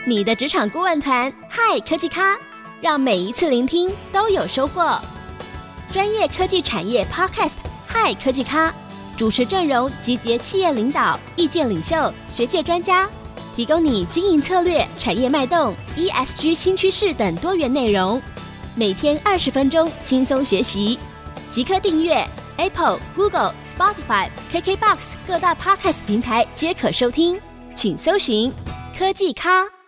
你的職場顧問團，嗨科技咖，讓每一次聆聽都有收穫。專業科技產業 Podcast， 嗨科技咖，主持陣容集結企業領導、意見領袖、學界專家，提供你經營策略、產業脈動、ESG 新趨勢等多元內容。每天20分鐘，輕鬆學習，即刻訂閱 Apple、Google、Spotify、KKBOX 各大 Podcast 平台皆可收聽，請搜尋科技咖。